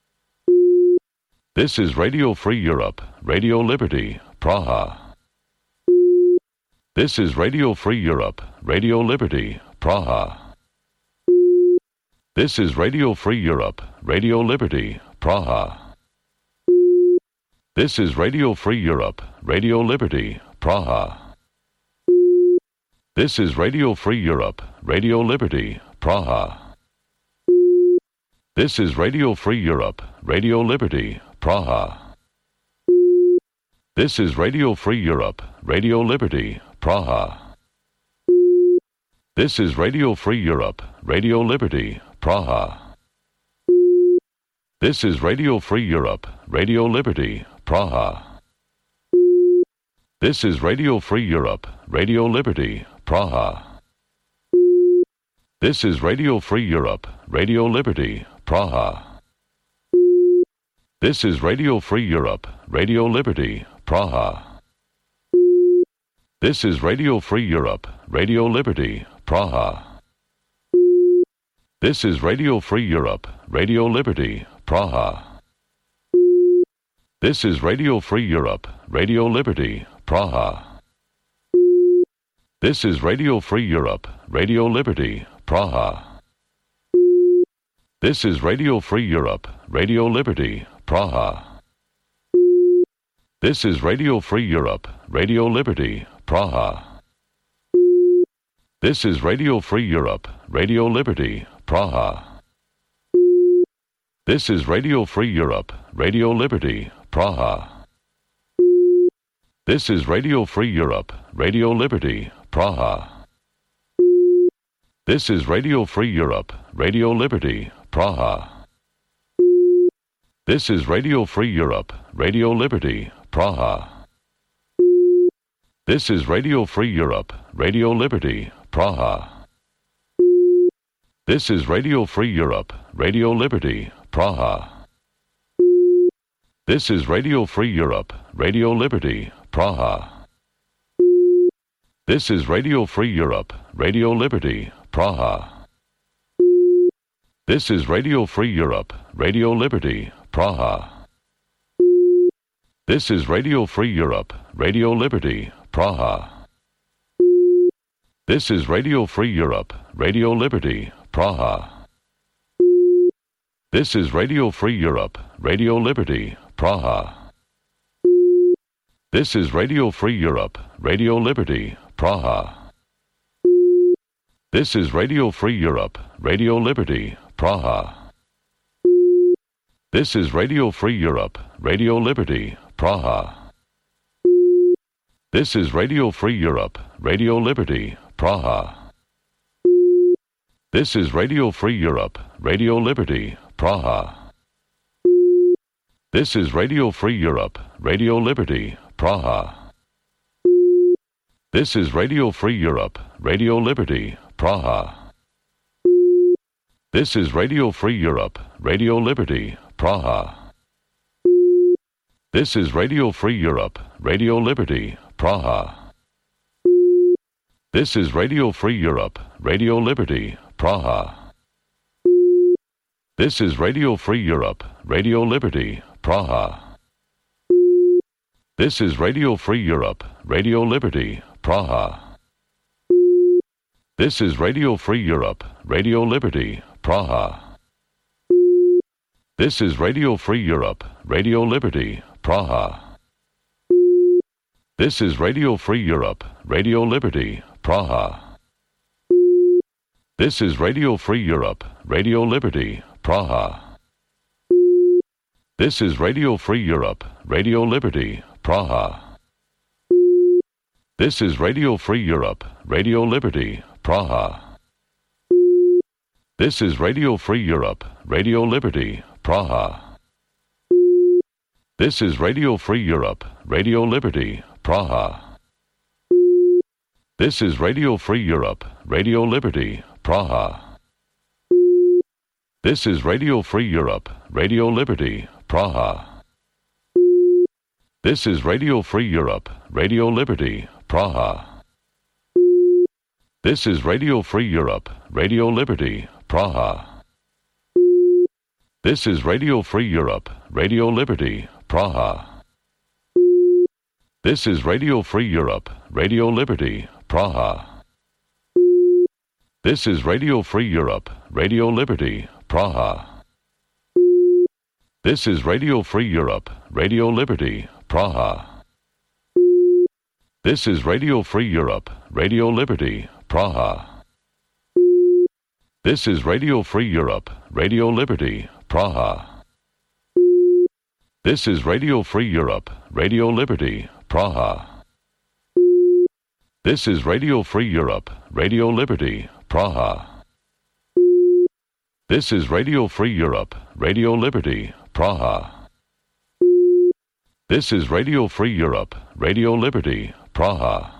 This is Radio Free Europe, Radio Liberty, Praha. This is Radio Free Europe, Radio Liberty, Praha. This is Radio Free Europe, Radio Liberty, Praha. This is Radio Free Europe, Radio Liberty, Praha. This is Radio Free Europe, Radio Liberty, Praha. This is Radio Free Europe, Radio Liberty, Praha. This is Radio Free Europe, Radio Liberty, Praha. This is Radio Free Europe, Radio Liberty, Praha. This is Radio Free Europe, Radio Liberty, Praha. This is Radio Free Europe, Radio Liberty, Praha. This is Radio Free Europe, Radio Liberty, Praha. This is Radio Free Europe, Radio Liberty, Praha. This is Radio Free Europe, Radio Liberty, Praha. This is Radio Free Europe, Radio Liberty, Praha. This is Radio Free Europe, Radio Liberty, Praha. This is Radio Free Europe, Radio Liberty, Praha. This is Radio Free Europe, Radio Liberty, Praha. This is Radio Free Europe, Radio Liberty, Praha. This is Radio Free Europe, Radio Liberty, Praha. This is Radio Free Europe, Radio Liberty, Praha. This is Radio Free Europe, Radio Liberty, Praha. This is Radio Free Europe, Radio Liberty, Praha. This is Radio Free Europe, Radio Liberty, Praha. This is Radio Free Europe, Radio Liberty, Praha. This is Radio Free Europe, Radio Liberty, Praha. This is Radio Free Europe, Radio Liberty, Praha. This is Radio Free Europe, Radio Liberty, Praha. This is Radio Free Europe, Radio Liberty, Praha. This is Radio Free Europe, Radio Liberty, Praha. This is Radio Free Europe, Radio Liberty, Praha. This is Radio Free Europe, Radio Liberty, Praha. This is Radio Free Europe, Radio Liberty, Praha. This is Radio Free Europe, Radio Liberty, Praha. This is Radio Free Europe, Radio Liberty, Praha. This is Radio Free Europe, Radio Liberty, Praha. This is Radio Free Europe, Radio Liberty, Praha. This is Radio Free Europe, Radio Liberty, Praha. This is Radio Free Europe, Radio Liberty, Praha. This is Radio Free Europe, Radio Liberty, Praha. This is Radio Free Europe, Radio Liberty, Praha. This is Radio Free Europe, Radio Liberty, Praha. This is Radio Free Europe, Radio Liberty, Praha. This is Radio Free Europe, Radio Liberty, Praha. This is Radio Free Europe, Radio Liberty, Praha. This is Radio Free Europe, Radio Liberty, Praha. This is Radio Free Europe, Radio Liberty, Praha. This is Radio Free Europe, Radio Liberty, Praha. This is Radio Free Europe, Radio Liberty, Praha. This is Radio Free Europe, Radio Liberty, Praha. This is Radio Free Europe, Radio Liberty, Praha. This is Radio Free Europe, Radio Liberty, Praha. This is Radio Free Europe, Radio Liberty, Praha. This is Radio Free Europe, Radio Liberty, Praha. This is Radio Free Europe, Radio Liberty, Praha. This is Radio Free Europe, Radio Liberty, Praha. This is Radio Free Europe, Radio Liberty, Praha. This is Radio Free Europe, Radio Liberty, Praha. This is Radio Free Europe, Radio Liberty, Praha. This is Radio Free Europe, Radio Liberty, Praha. This is Radio Free Europe, Radio Liberty, Praha. This is Radio Free Europe, Radio Liberty, Praha. This is Radio Free Europe, Radio Liberty, Praha. This is Radio Free Europe, Radio Liberty, Praha. This is Radio Free Europe, Radio Liberty, Praha. This is Radio Free Europe, Radio Liberty, Praha.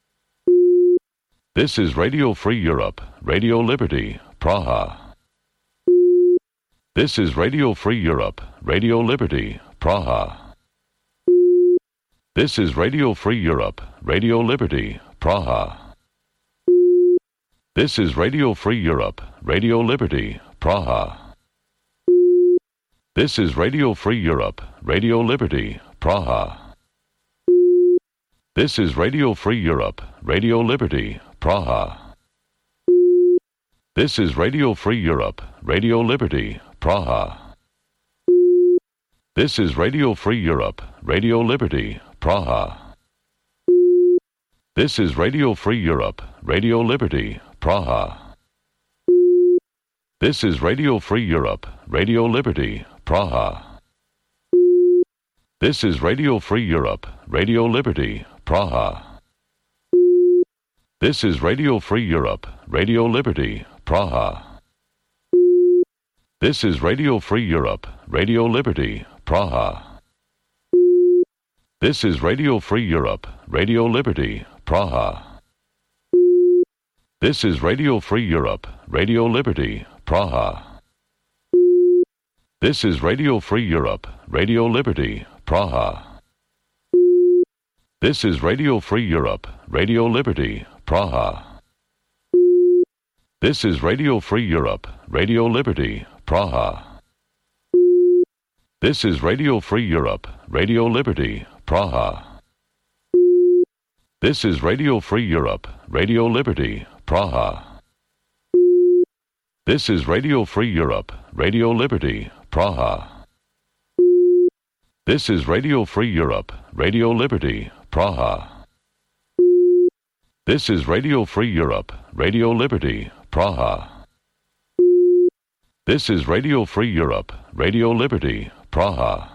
This is Radio Free Europe, Radio Liberty, Praha. This is Radio Free Europe, Radio Liberty, Praha. This is Radio Free Europe, Radio Liberty, Praha. This is Radio Free Europe, Radio Liberty, Praha. This is Radio Free Europe, Radio Liberty, Praha. This is Radio Free Europe, Radio Liberty, Praha. This is Radio Free Europe, Radio Liberty, Praha. This is Radio Free Europe, Radio Liberty, Praha. This is Radio Free Europe, Radio Liberty, Praha. This is Radio Free Europe, Radio Liberty, Praha. This is Radio Free Europe, Radio Liberty, Praha. This is Radio Free Europe, Radio Liberty, Praha. This is Radio Free Europe, Radio Liberty, Praha. This is Radio Free Europe, Radio Liberty, Praha. This is Radio Free Europe, Radio Liberty, Praha. This is Radio Free Europe, Radio Liberty, Praha. This is Radio Free Europe, Radio Liberty, Praha. This is Radio Free Europe, Radio Liberty, Praha. This is Radio Free Europe, Radio Liberty, Praha. This is Radio Free Europe, Radio Liberty, Praha. This is Radio Free Europe, Radio Liberty, Praha. This is Radio Free Europe, Radio Liberty, Praha. This is Radio Free Europe, Radio Liberty, Praha. This is Radio Free Europe, Radio Liberty, Praha.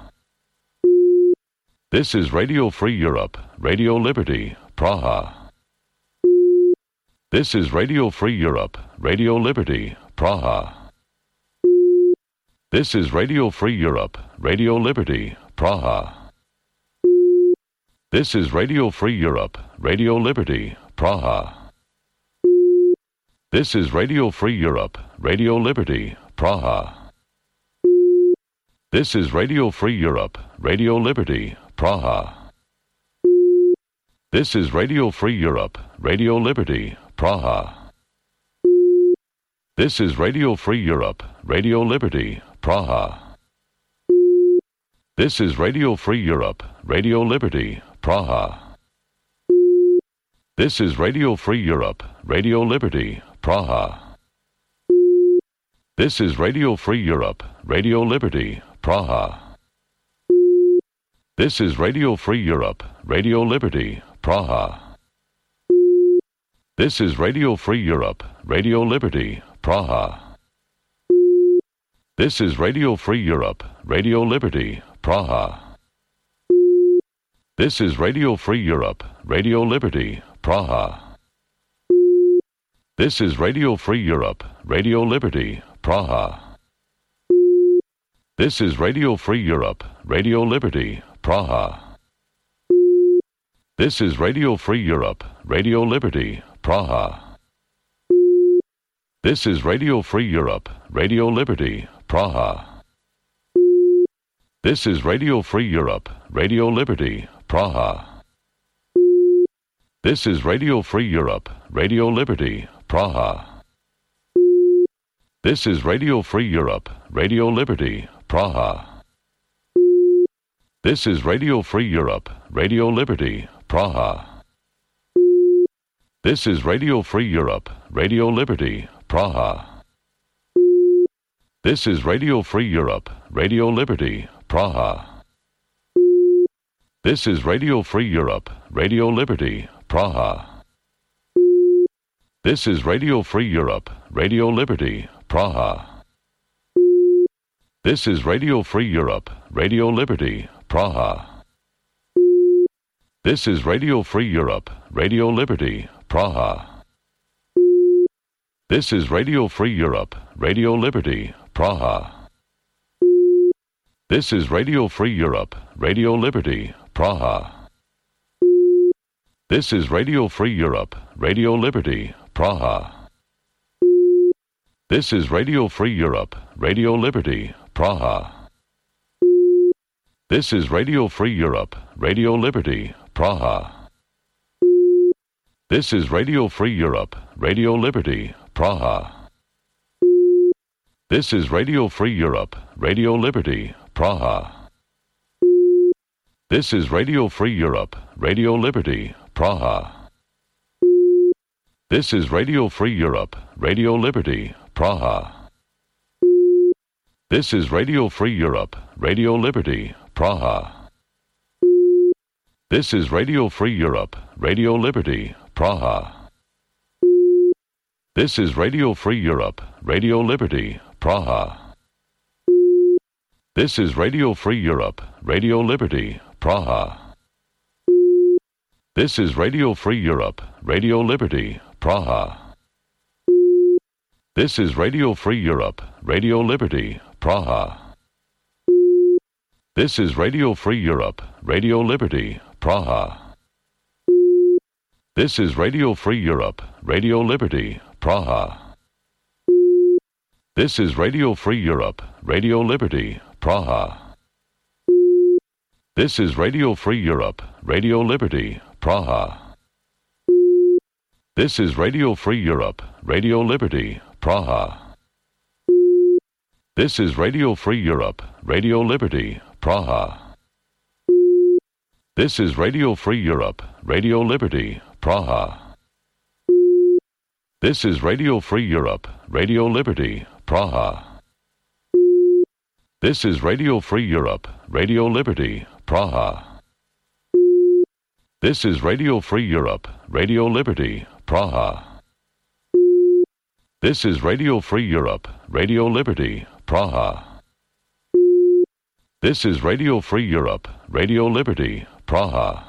This is Radio Free Europe, Radio Liberty, Praha. This is Radio Free Europe, Radio Liberty, Praha. This is Radio Free Europe, Radio Liberty, Praha. This is Radio Free Europe, Radio Liberty, Praha. This is Radio Free Europe, Radio Liberty, Praha. This is Radio Free Europe, Radio Liberty, Praha. This is Radio Free Europe, Radio Liberty, Praha. This is Radio Free Europe, Radio Liberty, Praha. This is Radio Free Europe, Radio Liberty, Praha. This is Radio Free Europe, Radio Liberty, Praha. This is Radio Free Europe, Radio Liberty, Praha. This is Radio Free Europe, Radio Liberty, Praha. This is Radio Free Europe, Radio Liberty, Praha. This is Radio Free Europe, Radio Liberty, Praha. This is Radio Free Europe, Radio Liberty, Praha. This is Radio Free Europe, Radio Liberty, Praha. This is Radio Free Europe, Radio Liberty, Praha. This is Radio Free Europe, Radio Liberty, Praha. This is Radio Free Europe, Radio Liberty, Praha. This is Radio Free Europe, Radio Liberty, Praha. This is Radio Free Europe, Radio Liberty, Praha. This is Radio Free Europe, Radio Liberty, Praha. This is Radio Free Europe, Radio Liberty, Praha. This is Radio Free Europe, Radio Liberty, Praha. This is Radio Free Europe, Radio Liberty, Praha. This is Radio Free Europe, Radio Liberty, Praha. This is Radio Free Europe, Radio Liberty, Praha. This is Radio Free Europe, Radio Liberty, Praha. This is Radio Free Europe, Radio Liberty, Praha. This is Radio Free Europe, Radio Liberty, Praha. This is Radio Free Europe, Radio Liberty, Praha. This is Radio Free Europe, Radio Liberty, Praha. This is Radio Free Europe, Radio Liberty, Praha. This is Radio Free Europe, Radio Liberty, Praha. This is Radio Free Europe, Radio Liberty, Praha. This is Radio Free Europe, Radio Liberty, Praha. This is Radio Free Europe, Radio Liberty, Praha. This is Radio Free Europe, Radio Liberty, Praha. This is Radio Free Europe, Radio Liberty, Praha. This is Radio Free Europe, Radio Liberty, Praha. This is Radio Free Europe, Radio Liberty, Praha. This is Radio Free Europe, Radio Liberty, Praha. This is Radio Free Europe, Radio Liberty, Praha. This is Radio Free Europe, Radio Liberty, Praha. This is Radio Free Europe, Radio Liberty, Praha. This is Radio Free Europe, Radio Liberty, Praha. This is Radio Free Europe, Radio Liberty, Praha. This is Radio Free Europe, Radio Liberty, Praha. This is Radio Free Europe, Radio Liberty, Praha. This is Radio Free Europe, Radio Liberty, Praha. This is Radio Free Europe, Radio Liberty, Praha. This is Radio Free Europe, Radio Liberty, Praha. This is Radio Free Europe, Radio Liberty, Praha. This is Radio Free Europe, Radio Liberty, Praha. This is Radio Free Europe, Radio Liberty, Praha. This is Radio Free Europe, Radio Liberty, Praha.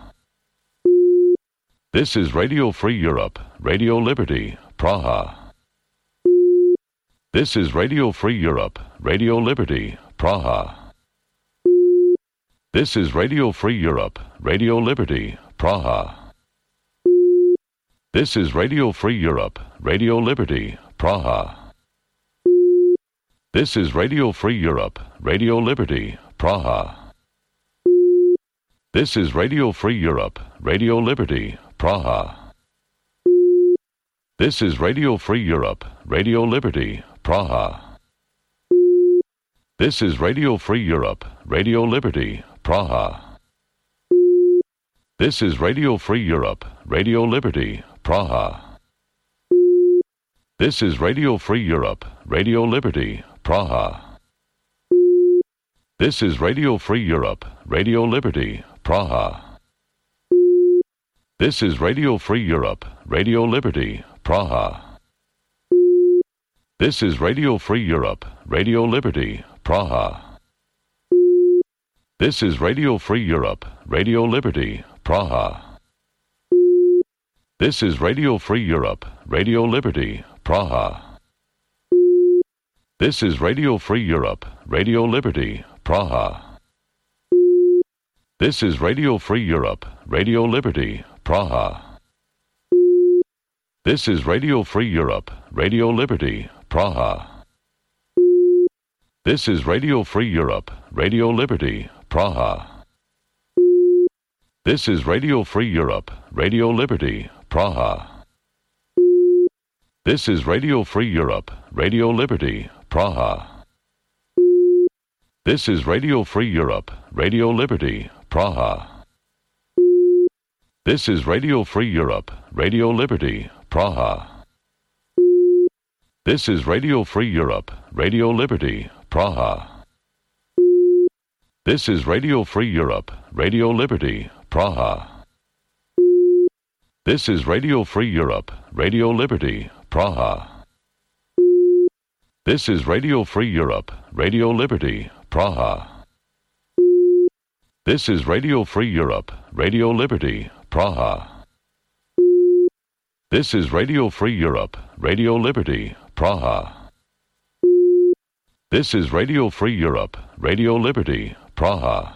This is Radio Free Europe, Radio Liberty, Praha. This is Radio Free Europe, Radio Liberty, Praha. This is Radio Free Europe, Radio Liberty, Praha. This is Radio Free Europe, Radio Liberty, Praha. This is Radio Free Europe, Radio Liberty, Praha. This is Radio Free Europe, Radio Liberty, Praha. This is Radio Free Europe, Radio Liberty, Praha. This is Radio Free Europe, Radio Liberty, Praha. This is Radio Free Europe, Radio Liberty, Praha. This is Radio Free Europe, Radio Liberty, Praha. This is Radio Free Europe, Radio Liberty, Praha. This is Radio Free Europe, Radio Liberty, Praha. This is Radio Free Europe, Radio Liberty, Praha. This is Radio Free Europe, Radio Liberty, Praha. This is Radio Free Europe, Radio Liberty, Praha. This is Radio Free Europe, Radio Liberty, Praha. This is Radio Free Europe, Radio Liberty, Praha. This is Radio Free Europe, Radio Liberty, Praha. This is Radio Free Europe, Radio Liberty, Praha. This is Radio Free Europe, Radio Liberty, Praha. This is Radio Free Europe, Radio Liberty, Praha. This is Radio Free Europe, Radio Liberty, Praha. This is Radio Free Europe, Radio Liberty, Praha. This is Radio Free Europe, Radio Liberty, Praha. This is Radio Free Europe, Radio Liberty, Praha. This is Radio Free Europe, Radio Liberty, Praha. This is Radio Free Europe, Radio Liberty, Praha. This is Radio Free Europe, Radio Liberty, Praha. This is Radio Free Europe, Radio Liberty, Praha. This is Radio Free Europe, Radio Liberty, Praha.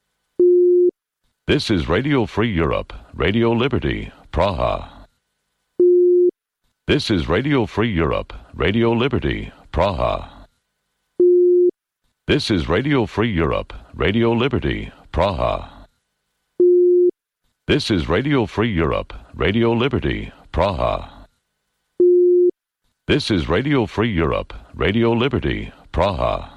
This is Radio Free Europe, Radio Liberty, Praha. This is Radio Free Europe, Radio Liberty, Praha. This is Radio Free Europe, Radio Liberty, Praha. This is Radio Free Europe, Radio Liberty, Praha. This is Radio Free Europe, Radio Liberty, Praha.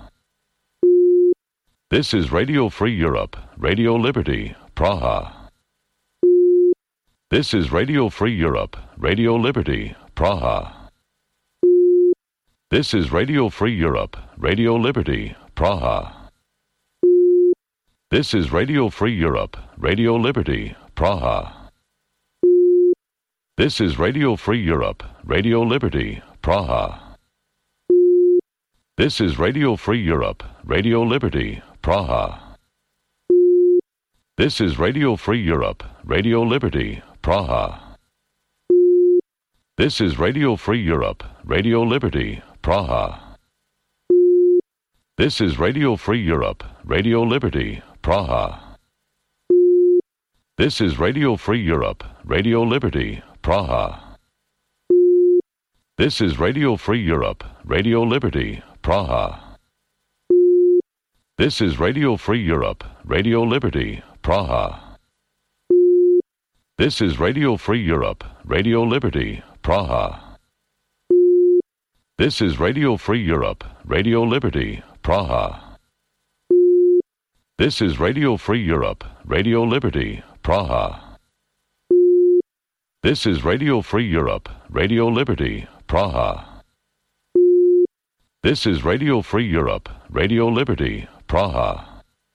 This is Radio Free Europe, Radio Liberty, Praha. This is Radio Free Europe, Radio Liberty, Praha. This is Radio Free Europe, Radio Liberty, Praha. This is Radio Free Europe, Radio Liberty, Praha. This is Radio Free Europe, Radio Liberty, Praha. This is Radio Free Europe, Radio Liberty, Praha. This is Radio Free Europe, Radio Liberty, Praha. This is Radio Free Europe, Radio Liberty, Praha. This is Radio Free Europe, Radio Liberty, Praha. This is Radio Free Europe, Radio Liberty, Praha. This is Radio Free Europe, Radio Liberty, Praha. This is Radio Free Europe, Radio Liberty, Praha. This is Radio Free Europe, Radio Liberty, Praha. This is Radio Free Europe, Radio Liberty, Praha. This is Radio Free Europe, Radio Liberty, Praha. This is Radio Free Europe, Radio Liberty, Praha. This is Radio Free Europe, Radio Liberty, Praha.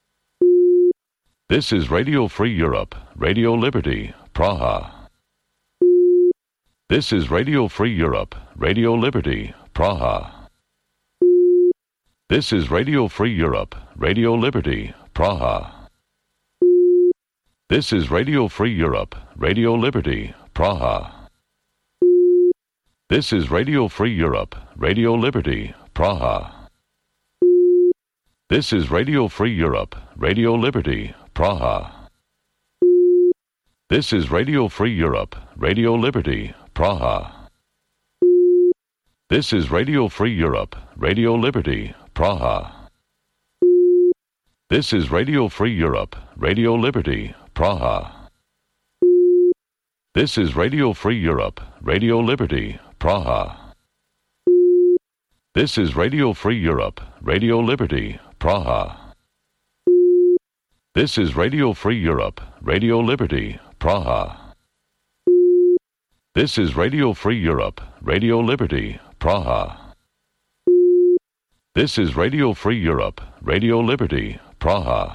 This is Radio Free Europe, Radio Liberty, Praha. This is Radio Free Europe, Radio Liberty, Praha. This is Radio Free Europe, Radio Liberty, Praha. This is Radio Free Europe, Radio Liberty, Praha. This is Radio Free Europe, Radio Liberty, Praha. This is Radio Free Europe, Radio Liberty, Praha. This is Radio Free Europe, Radio Liberty, Praha. This is Radio Free Europe, Radio Liberty, Praha. This is Radio Free Europe, Radio Liberty, Praha. This is Radio Free Europe, Radio Liberty, Praha. This is Radio Free Europe, Radio Liberty, Praha. This is Radio Free Europe, Radio Liberty, Praha. This is Radio Free Europe, Radio Liberty, Praha. This is Radio Free Europe, Radio Liberty, Praha.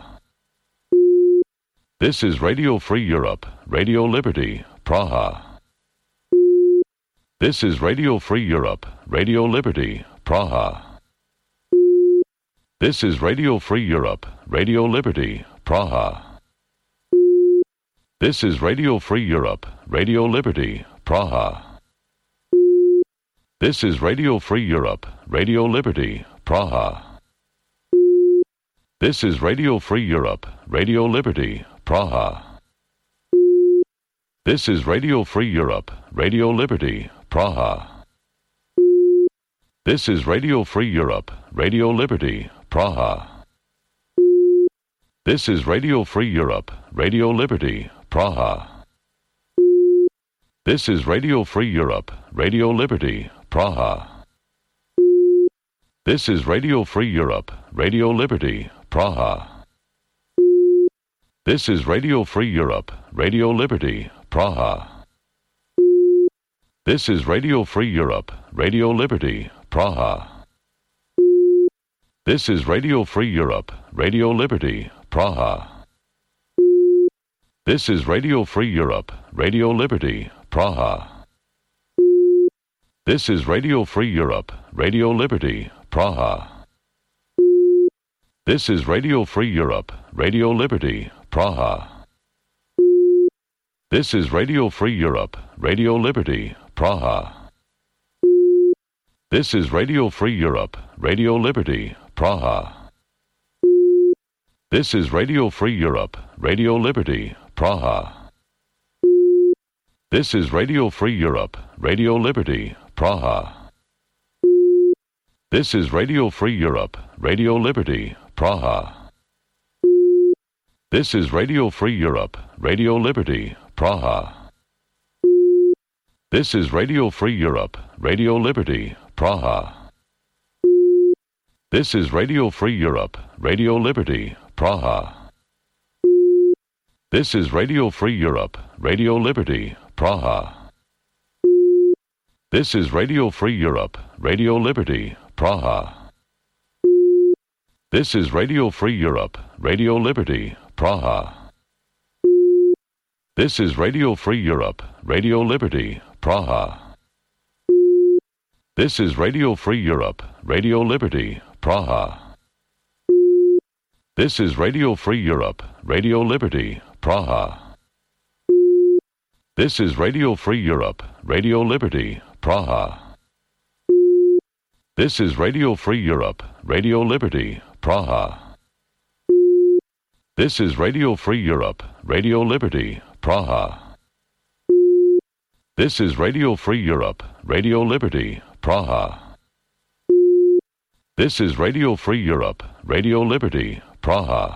This is Radio Free Europe, Radio Liberty, Praha. This is Radio Free Europe, Radio Liberty, Praha. This is Radio Free Europe, Radio Liberty, Praha. This is Radio Free Europe, Radio Liberty, Praha. This is Radio Free Europe, Radio Liberty, Praha. This is Radio Free Europe, Radio Liberty, Praha. This is Radio Free Europe, Radio Liberty, Praha. This is Radio Free Europe, Radio Liberty, Praha. This is Radio Free Europe, Radio Liberty, Praha. This is Radio Free Europe, Radio Liberty, Praha. This is Radio Free Europe, Radio Liberty, Praha. This is Radio Free Europe, Radio Liberty, Praha. This is Radio Free Europe, Radio Liberty, Praha. This is Radio Free Europe, Radio Liberty, Praha. This is Radio Free Europe, Radio Liberty, Praha. This is Radio Free Europe, Radio Liberty, Praha. This is Radio Free Europe, Radio Liberty, Praha. This is Radio Free Europe, Radio Liberty, Praha. This is Radio Free Europe, Radio Liberty, Praha. This is Radio Free Europe, Radio Liberty, Praha. This is Radio Free Europe, Radio Liberty, Praha. This is Radio Free Europe, Radio Liberty, Praha. This is Radio Free Europe, Radio Liberty, Praha. This is Radio Free Europe, Radio Liberty, Praha. This is Radio Free Europe, Radio Liberty, Praha. This is Radio Free Europe, Radio Liberty, Praha. This is Radio Free Europe, Radio Liberty, Praha. This is Radio Free Europe, Radio Liberty, Praha. This is Radio Free Europe, Radio Liberty, Praha. This is Radio Free Europe, Radio Liberty, Praha. This is Radio Free Europe, Radio Liberty, Praha. This is Radio Free Europe, Radio Liberty, Praha. This is Radio Free Europe, Radio Liberty, Praha. This is Radio Free Europe, Radio Liberty, Praha. This is Radio Free Europe, Radio Liberty, Praha. This is Radio Free Europe, Radio Liberty, Praha.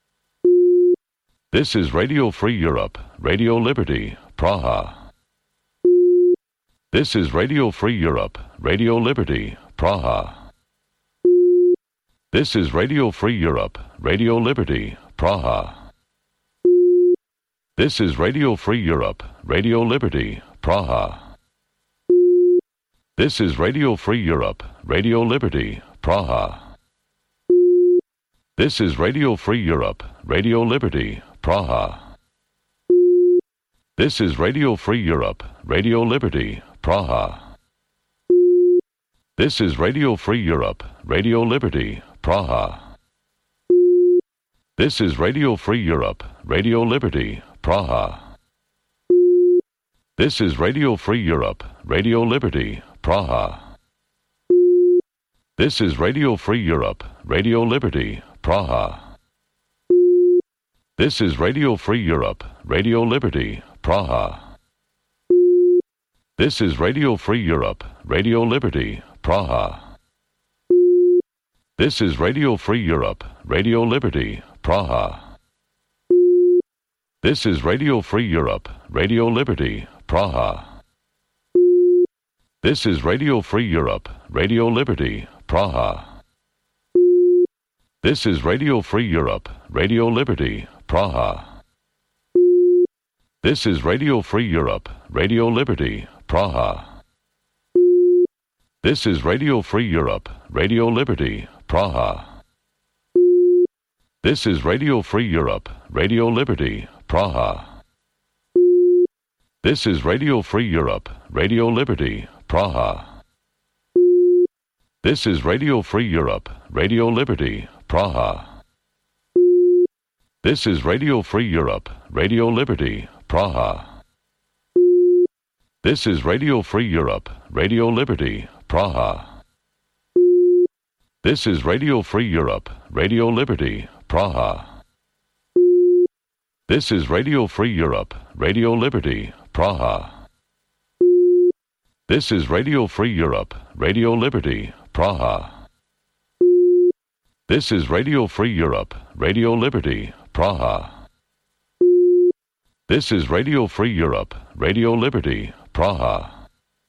This is Radio Free Europe, Radio Liberty, Praha. This is Radio Free Europe, Radio Liberty, Praha. This is Radio Free Europe, Radio Liberty, Praha. This is Radio Free Europe, Radio Liberty, Praha. This is Radio Free Europe, Radio Liberty, Praha. This is Radio Free Europe, Radio Liberty, Praha. This is Radio Free Europe, Radio Liberty, Praha. This is Radio Free Europe, Radio Liberty, Praha. This is Radio Free Europe, Radio Liberty, Praha. This is Radio Free Europe, Radio Liberty, Praha. This is Radio Free Europe, Radio Liberty, Praha. This is Radio Free Europe, Radio Liberty, Praha. This is Radio Free Europe, Radio Liberty, Praha. This is Radio Free Europe, Radio Liberty, Praha. This is Radio Free Europe, Radio Liberty, Praha. This is Radio Free Europe, Radio Liberty, Praha. This is Radio Free Europe, Radio Liberty, Praha. This is Radio Free Europe, Radio Liberty, Praha. This is Radio Free Europe, Radio Liberty, Praha. This is Radio Free Europe, Radio Liberty, Praha. This is Radio Free Europe, Radio Liberty, Praha. This is Radio Free Europe, Radio Liberty, Praha. This is Radio Free Europe, Radio Liberty, Praha. This is Radio Free Europe, Radio Liberty, Praha. This is Radio Free Europe, Radio Liberty, Praha. This is Radio Free Europe, Radio Liberty, Praha. This is Radio Free Europe, Radio Liberty, Praha. This is Radio Free Europe, Radio Liberty, Praha. This is Radio Free Europe, Radio Liberty, Praha.